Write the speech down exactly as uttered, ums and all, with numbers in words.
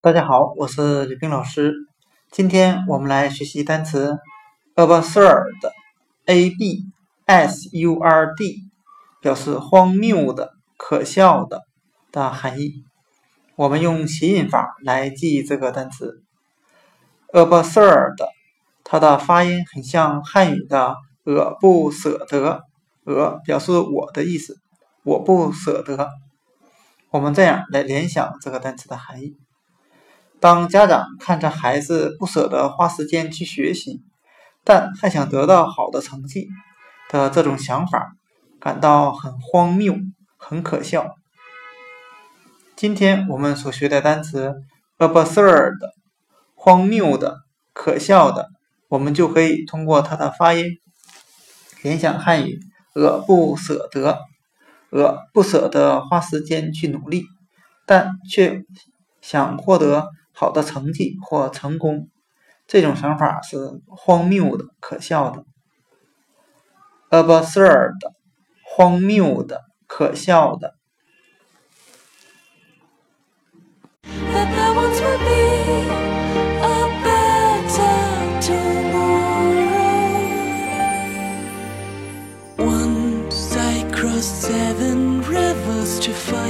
大家好，我是吕冰老师。今天我们来学习单词 absurd A B S U R D 表示荒谬的、可笑的的含义。我们用谐音法来记忆这个单词 absurd， 它的发音很像汉语的我不舍得，我表示我的意思，我不舍得。我们这样来联想这个单词的含义。当家长看着孩子不舍得花时间去学习，但还想得到好的成绩的这种想法，感到很荒谬、很可笑。今天我们所学的单词 absurd 荒谬的、可笑的，我们就可以通过它的发音联想汉语我不舍得，我不舍得花时间去努力，但却想获得好的成绩或成功，这种想法是荒谬的、可笑的。absurd 荒谬的、可笑的。 Seven rivers to find